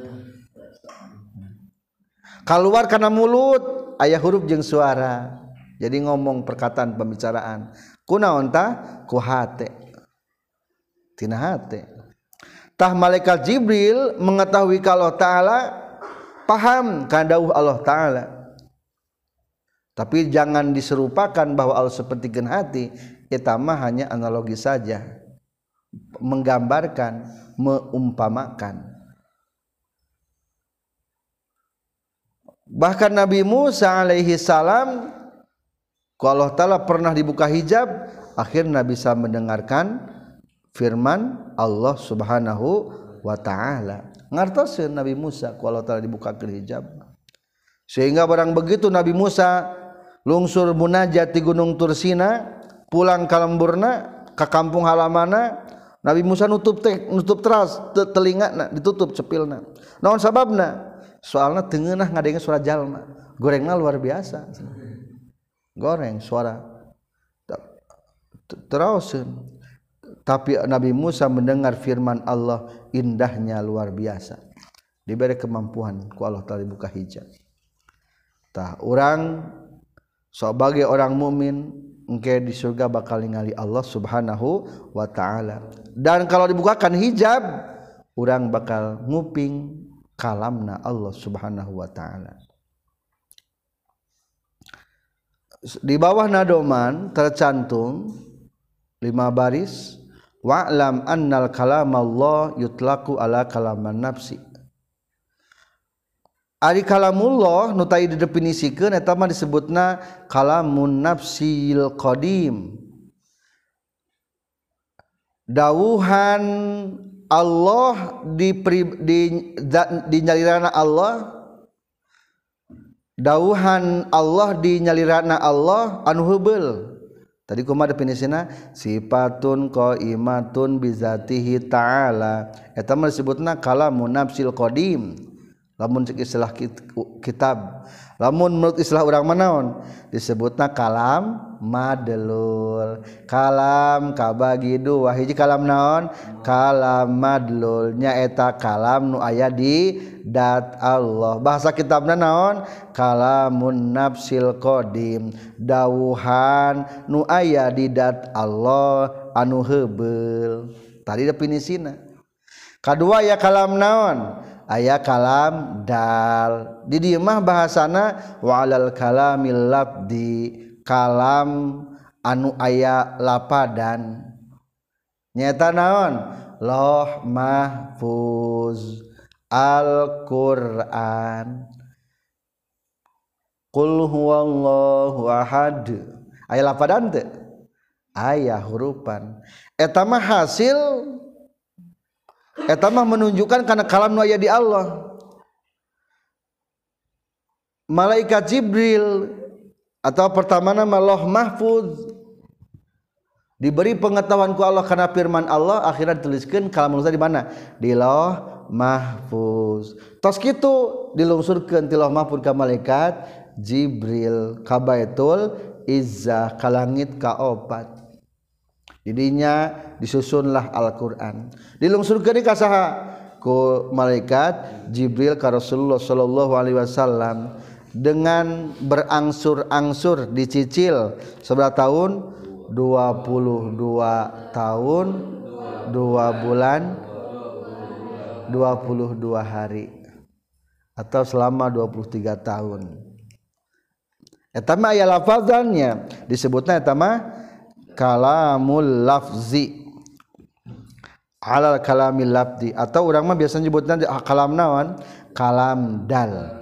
keluar karena mulut aya huruf jeung suara jadi ngomong perkataan pembicaraan kunaon tah ku hate tina hate tah malaikat Jibril mengetahui kalau taala paham kana dawuh Allah taala tapi jangan diserupakan bahwa Allah sepertikeun hati eta mah hanya analogi saja menggambarkan meumpamakan bahkan Nabi Musa alaihi salam ku Allah taala pernah dibuka hijab akhirnya bisa mendengarkan firman Allah Subhanahu wa taala ngartoseun Nabi Musa ku Allah taala dibukakeun hijab sehingga barang begitu Nabi Musa lungsur munajat di Gunung Tursina pulang ka lemburna ka kampung halamanna Nabi Musa nutup teras telingana ditutup cepilna naon sababna soalna teu ngeunah ngadengeun suara jalma gorengna luar biasa goreng suara terauseun tapi Nabi Musa mendengar firman Allah indahnya luar biasa diberi kemampuan ku Allah taala dibuka hijab tah urang sebagai orang mukmin engke di surga bakal ningali Allah Subhanahu wa taala dan kalau dibukakan hijab urang bakal nguping kalamna Allah Subhanahu wa taala. Di bawah nadoman tercantum 5 baris wa'lam annal kalamallah yutlaqu ala kalaman nafsi. Ari kalamullah nu tadi didefinisikeun eta mah disebutna kalamun nafsil qadim. dawuhan Allah di nyalirana Allah, dawuhan Allah di nyalirana Allah anu heubeul. Tadi kumaha definisina? Sifatun qaimatun bizatihi ta'ala. Eta mah disebutna kalamun nafsil qadim. Lamun cek istilah kitab, lamun menurut istilah urang mah naon? Disebutna kalam madlul. Kalam kabagi dua, hiji kalam naon? Kalam madlul, nyaeta kalam nu aya di dat Allah. Bahasa kitabna naon? Kalamun nafsil qadim, dawuhan nu aya di dat Allah anu heubeul. Tadi definisina. Kadua ya kalam naon? Aya kalam dal. Di dieu mah bahasana wa'alal kalamil labdi, kalam anu aya lapadan. Nyata naon? Lauh mahfuz, Al-Qur'an. Qul huwallahu ahad. Aya lapadan teu? Aya hurufan. Eta mah hasil, eta mah menunjukkan karena kalam nu aya di Allah. Malaikat Jibril atau pertama nama Lauh Mahfuz diberi pengetahuan ku Allah karena firman Allah, akhirnya dituliskeun kalam nu di mana? Di Lauh Mahfuz. Tos kitu dilungsurkeun ti Lauh Mahfuz ka malaikat Jibril ka Baitul Izzah ka langit kaopat. Didinya disusunlah Al-Qur'an. Dilungsurkeun ka saha? Ku malaikat Jibril ka Rasulullah sallallahu alaihi wasallam dengan berangsur-angsur dicicil seberapa tahun? 22 tahun 2 bulan 22 hari atau selama 23 tahun. Eta mah aya lafazannya, disebutna eta mah kalamul lafzi alal kalamil labdi, atau urang mah biasa nyebutna kalam naon? Kalam dal.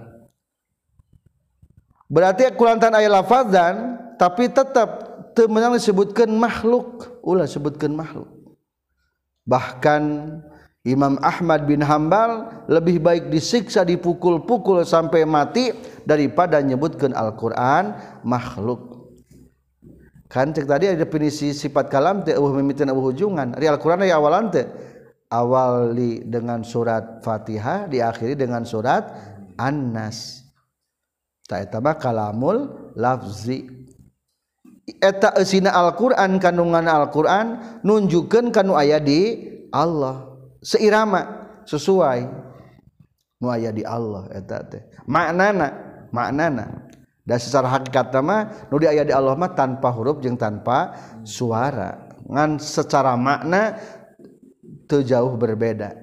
Berarti kulantan aya lafazan tapi tetap teu meunang disebutkeun makhluk, ulah sebutkeun makhluk. Bahkan Imam Ahmad bin Hambal lebih baik disiksa dipukul-pukul sampai mati daripada nyebutkeun Al-Qur'an makhluk. Kan cek tadi ada definisi sifat kalam teh eueuh mimiten eueuh ujungan. Ari Al-Qur'an aya awalan teh? Awali dengan surat Fatihah, diakhiri dengan surat An-Nas. Ta eta mah kalamul lafzi. Eta eusina Al-Qur'an, kandungan Al-Qur'an nunjukkeun kanu aya di Allah. Seirama, sesuai nu aya di Allah eta teh. Maknana dan secara hakikat mah nu aya di Allah mah tanpa huruf jeung tanpa suara. Ngan secara makna teu jauh berbeda.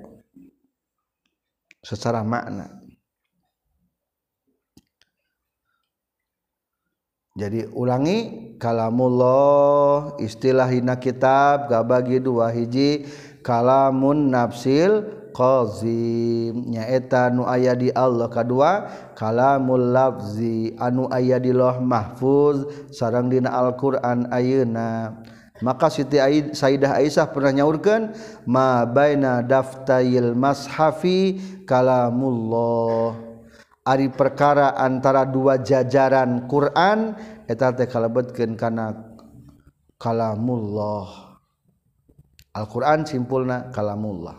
Secara makna. Jadi ulangi, kalamullah istilahina kitab gabagi dua, hiji kalamun nafsil qazim nyaeta nu aya di Allah, kadua kalamul lafzi anu aya di Lauh Mahfuz sareng dina Al-Qur'an ayeuna. Maka Siti Sayyidah Aisyah pernah nyaurkeun ma baina daftayil mashafi kalamullah, ari perkara antara dua jajaran Quran eta teh kalebetkeun kana kalamullah. Al-Qur'an simpulna kalamullah.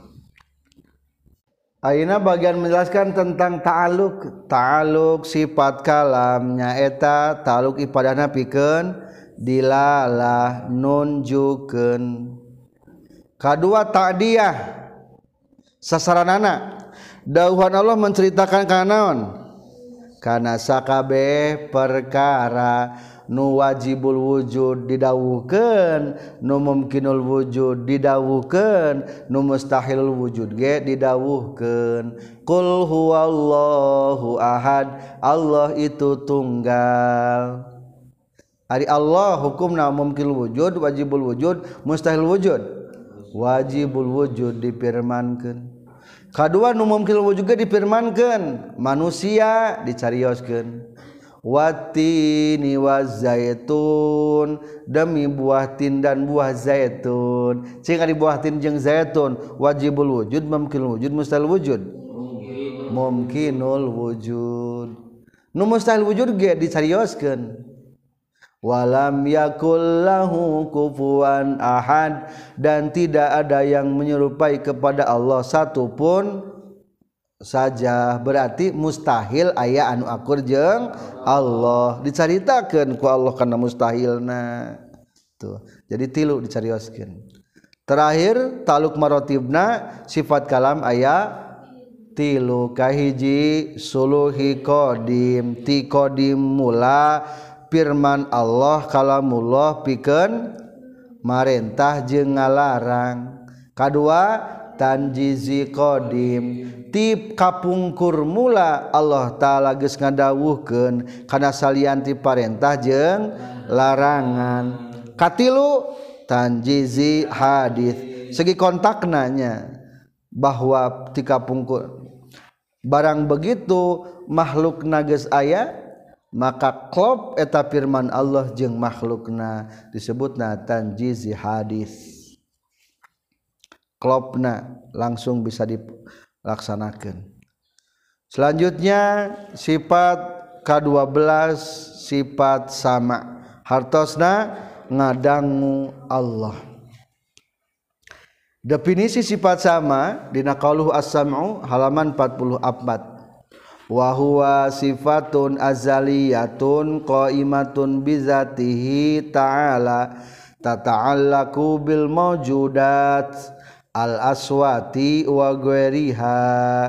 Ayeuna bagian menjelaskan tentang ta'alluq sifat kalam nyaeta ta'alluq ipadana pikeun dilalah nunjukeun. Kadua ta'diyah sasaranana dawuhan Allah menceritakan kana naon? Kana sakabeh perkara nu wajibul wujud didawuhkeun, nu mumkinul wujud didawuhkeun, nu mustahilul wujud ge didawuhkeun. Qul huwallahu ahad, Allah itu tunggal. Ari Allah hukumna mumkinul wujud, wajibul wujud, mustahilul wujud. Wajibul wujud difirmankeun. Kadua nu mumkinul wujud ge difirmankeun, manusia dicarioskeun. watini wazaitun demi buah tin dan buah zaitun. Cing ari buah tin jeung zaitun wajibul wujud mumkinul wujud mustahil wujud mumkinul wujud. Nu mustahil wujud ge dicarioskeun walam yakul lahu kufuwan ahad dan tidak ada yang menyerupai kepada Allah satupun saja. Berarti mustahil aya anu akur jeung Allah dicaritakeun ku Allah kana mustahilna tuh. Jadi tilu dicarioskeun. Terakhir taluk marotibna sifat kalam aya tilu. Kahiji suluhi qadim ti qadim mula firman Allah kalamullah pikeun marentah jeung ngalarang. Kadua tanjizi qadim ti kapungkur mula Allah taala geus ngadawuhkeun kana salian ti parentah jeung larangan. Katilu tanjizi hadis segi kontakna nya bahwa ti kapungkur barang begitu makhlukna geus aya maka klop eta firman Allah jeung makhlukna disebutna tanjizi hadis. Klopna langsung bisa dilaksanakan. Selanjutnya sifat ke-12 sifat sama hartosna ngadangu Allah. Definisi sifat sama dina qauluhu as-sam'u halaman 44. Wa huwa sifatun azaliyatun qaimatun bizatihi ta'ala tata'allaqu bil mawjudat al aswati wa ghairiha.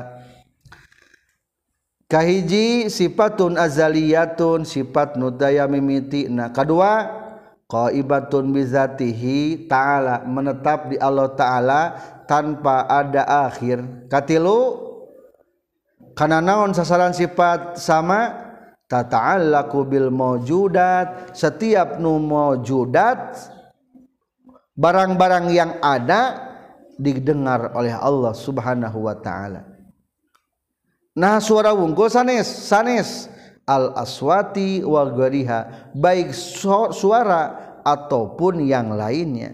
Kahiji sifatun azaliyatun sifat nu daya mimitina. Kadua qaimatun bizatihi ta'ala menetap di Allah taala tanpa ada akhir. Katilu kana naon sasaran sifat sama tata'allaqu bil mawjudat setiap nu mawjudat barang-barang yang ada didengar oleh Allah Subhanahu wa taala. Nah suara wungkul sanes al aswati wa ghariha baik suara ataupun yang lainnya.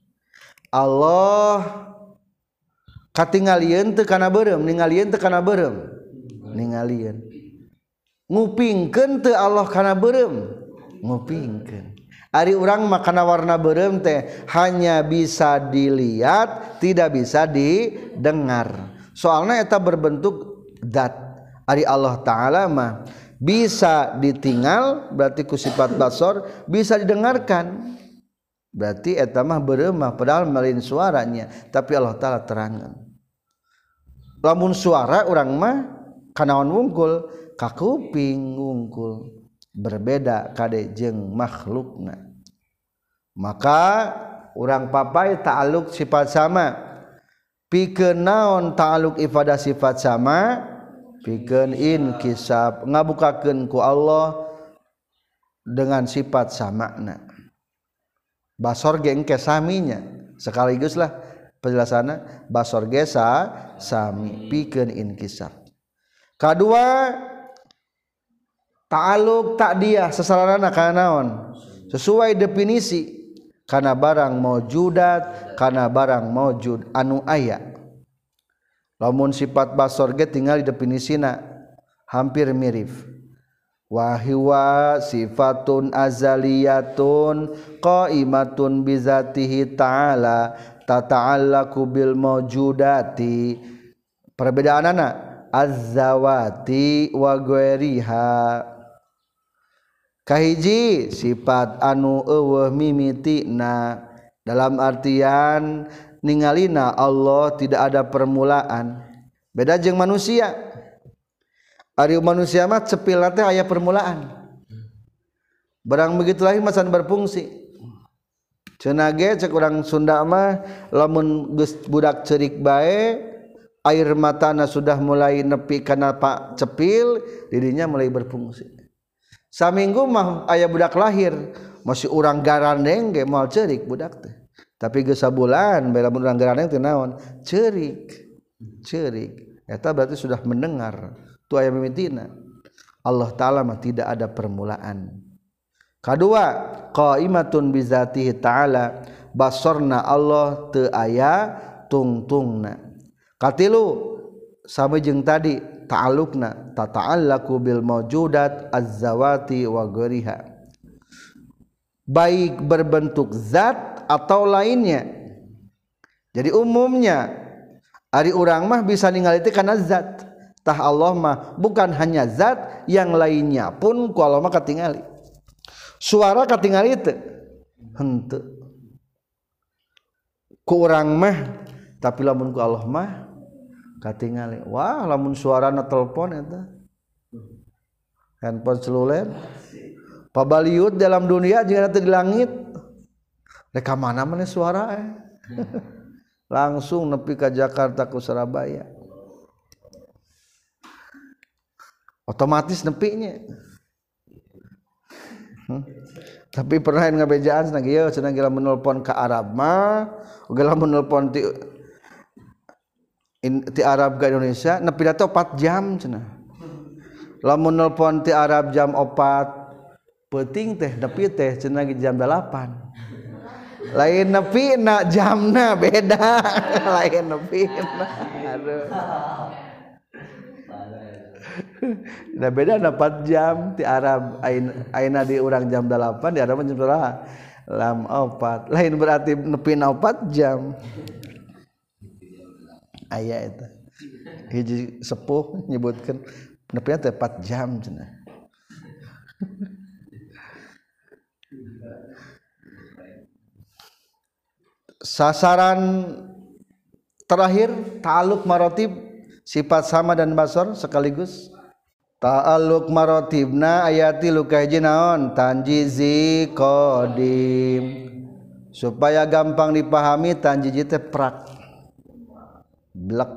Allah katingalieun teu kana beureum ningalieun teu kana beureum ningalieun ngupingkeun teu Allah kana beureum ngupingkeun. Ari urang mah kana warna beureum teh hanya bisa dilihat tidak bisa didengar soalna eta berbentuk zat. Ari Allah taala mah bisa ditinggal berarti ku sifat basor bisa didengarkan berarti eta mah beureum mah padahal melin suaranya tapi Allah taala terangan. Lamun suara urang mah kanaon wungkul ka kuping wungkul berbeda kade jeung makhlukna. Maka urang papai ta'alluq sifat sama pikeun naon ta'alluq ifadah sifat sama pikeun inkisab ngabukakeun ku Allah dengan sifat samana. Basor ge engke saminya sekaliguslah penjelasanna basor ge sami pikeun inkisab. Kadua ta'alluq ta'diyah sasaranana kana naon sesuai definisi kana barang maujudat kana barang maujud anu aya. Lamun sifat basor ge tinggal di definisina hampir mirip. Wa huwa sifatun azaliyatun qaimatun bizatihi ta'ala tata'allaqu bil maujudati. Perbedaanana az-zawati wa ghairiha. Kahiji sifat anu eueuh mimitina dalam artian ningalina Allah tidak ada permulaan. Beda jeung manusia. Ari manusia mah cepil teh aya permulaan. Barang begitu lain macan berfungsi. Cenah ge cek urang Sunda mah lamun geus budak ceurik bae air matana sudah mulai nepi kana pak cepil didinya mulai berfungsi. Saminggu mah aya budak lahir masih urang garandeng ge moal ceurik budak teh. Tapi geus sabulan bae lamun urang garandeng teh naon? Ceurik. Eta berarti sudah mendengar. Tu aya mimitina. Allah Ta'ala mah tidak ada permulaan. Kedua, qaimatun bizatihi ta'ala, basarna Allah teu aya tungtungna. Katilu sama jeung tadi ta'alluqna tata'allaku bil mawjudat az-zawati wa ghairiha, baik berbentuk zat atau lainnya. Jadi umumnya ari urang mah bisa ningali teh kana zat, tah Allah mah bukan hanya zat, yang lainnya pun ku Allah mah katingali. Suara katingali teu? Henteu. Ku urang mah, tapi lamun ku Allah mah katingali. Wah, lamun suarana telepon eta. Handphone seluler. Pabaliut dalam dunia jeung teu di langit. Rek ka mana maneh suara langsung nepi ka Jakarta ku Surabaya. Otomatis nepinya. Tapi pernah ngabejaan cenah ieu cenah geus menelpon ka Arab mah, geus menelpon ti Arab ke Indonesia nepi da 4 jam cenah. Lamun nelpon ti Arab jam 4 peuting teh nepi teh cenah jam 8. Lain nepi na jamna beda. Lain nepi na. Aduh. Da beda na 4 jam ti Arab ayeuna di urang jam 8 di Arab jam berapa? Lam 4. Lain berarti nepi na 4 jam. Aya eta. Hiji sepuh nyebutkeun nepi teh 4 jam cenah. Sasaran terakhir ta'alluq maratib, sifat sama dan basar sekaligus. Ta'alluq maratibna ayati lukaji naon tanjizi qadim, supaya gampang dipahami tanjizi teh prak blek,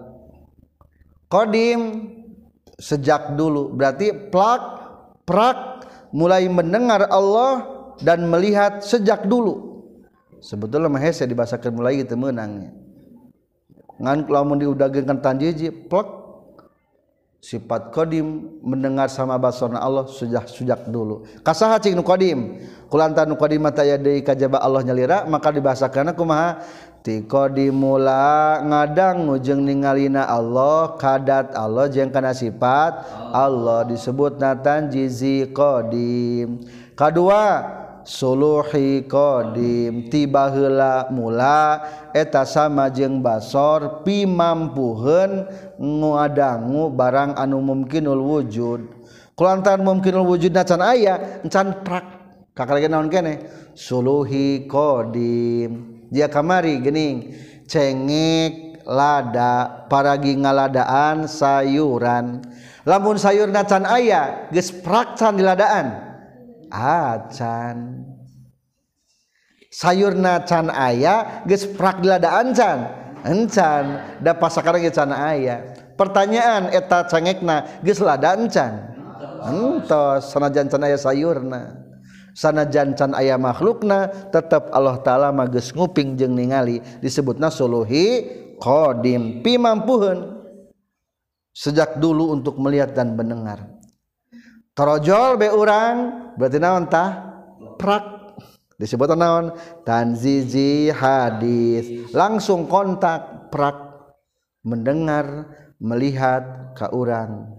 qadim sejak dulu, berarti prak mulai mendengar Allah dan melihat sejak dulu. Sebetulnya mah hese dibasakeun mulai gitu meunangnya. Ngan lamun diudageunkan tanjiji plek, sifat qadim mendengar sama basarna Allah sejak dulu. Kasaha cing nu qadim? Kulantan nu qadim mata ya deui kajaba Allah nyalira, maka dibahasakeunna kumaha? Ti qadimula ngadangu jeung ningalina Allah, kadat Allah jeung kana sifat Allah disebutna tanjizi qadim. Kadua suluhi qadim, tiba heula mula eta sama jeung basar pimampuheun ngadangu barang anu mungkinul wujud. Kulantaran mungkinul wujudna can aya encan prak kakarageun naon keneh suluhi qadim. Dia kamari geuning cengek lada paragi ngaladaan sayuran, lamun sayurna can aya geus prak can diladaan acan, sayurna can aya geus prak diladaan can encan, da pasakarang can aya. Pertanyaan eta cengekna geus lada encan? Entos, sanajan can aya sayurna, sanajan can aya makhlukna, tetep Allah Ta'ala mah geus nguping jeung ningali, disebutna suluhi qadim, pimampuheun sejak dulu untuk melihat dan mendengar. Tarojol be urang berarti naon tah? Prak. Disebut naon? Tanzizi hadis. Langsung kontak prak, mendengar, melihat ka urang.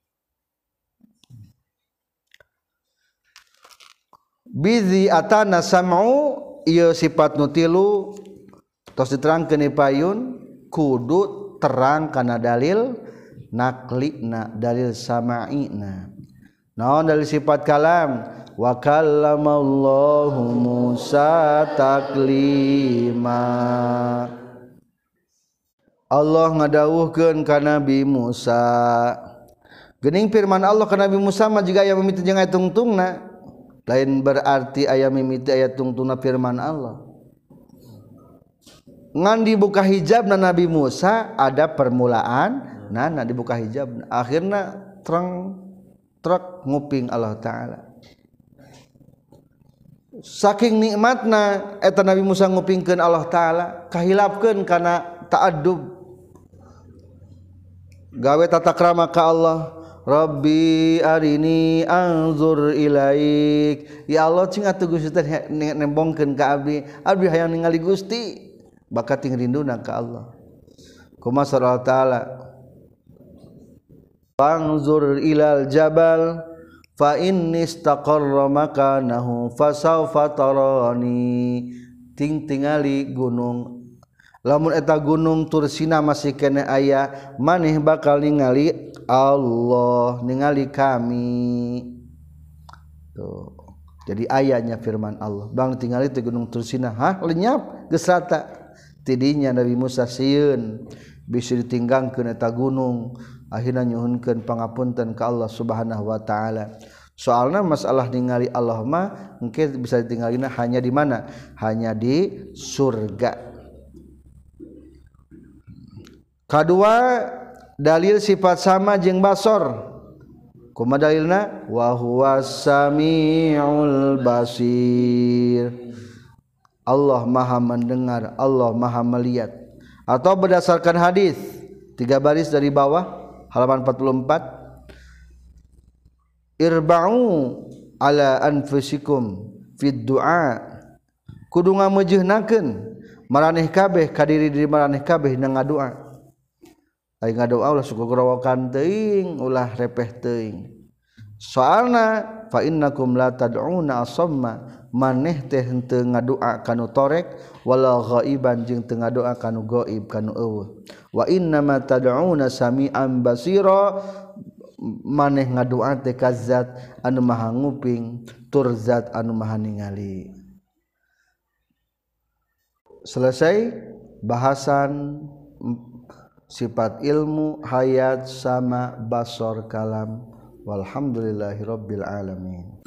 Bizi atana sam'u ieu sifat nu tilu tos diterangkeun di payun kudu terang kana dalil naklina, dalil sama'ina. Naon dari sifat kalam? Wa kallamallahu Musa taklima. Allah ngadawuhkeun ka Nabi Musa. Geuning firman Allah ka Nabi Musa mah jiga aya mimiti jeung aya tungtungna. Lain berarti aya mimiti aya tungtungna firman Allah. Ngan dibuka hijabna Nabi Musa ada permulaan, nah dibuka hijab, akhirna terang truk nguping Allah Ta'ala. Saking nikmatna eta Nabi Musa ngupingkeun Allah Ta'ala, kahilapkeun kana ta'addub gawe tata krama ka Allah. Rabbi arini anzur ilaik. Ya Allah cing atuh Gusti teh nembongkeun ka abdi. Abdi hayang ningali Gusti. Bakat ting rinduna ka Allah. Kumaha Allah taala. Anzur ilal jabal fa inni istaqarra makanahu fasawfa tarani. Ting tingali gunung. Lamun eta gunung Tursina masih kene aya, maneh bakal ningali Allah, ningali kami. Tuh. Jadi ayatnya firman Allah. Bang tingali di gunung Tursina, hah lenyap geus rata. Tidinya Nabi Musa sieun bisa ditinggangkeun eta gunung, akhirna nyuhunkeun pangapunten ka Allah Subhanahu wa taala. Soalna masalah ningali Allah mah engke bisa ditinggalina hanya di mana? Hanya di surga. Kadua dalil sifat sama jeung basor. Kumaha dalilna? Wa huwas samiul basir. Allah Maha mendengar, Allah Maha melihat. Atau berdasarkan hadis 3 baris dari bawah halaman 44. Irba'u ala anfusikum fid du'a. Kudu ngameujeunnakeun maraneh kabeh ka diri maraneh kabeh na ngadua. Ai ngadoa ulah suku gorowokan teuing ulah repeh teuing. Soalna fa innakum la tad'una asamma maneh teh henteu ngadoa kanu torek wala ghaiban jeung teu ngadoa kanu gaib kanu eueuh. Wa innama tad'una sami'an basira maneh ngadoa teh ka zat anu maha nguping tur zat anu maha ningali. Selesai bahasan sifat ilmu, hayat sama basor kalam. Walhamdulillahirabbil alamin.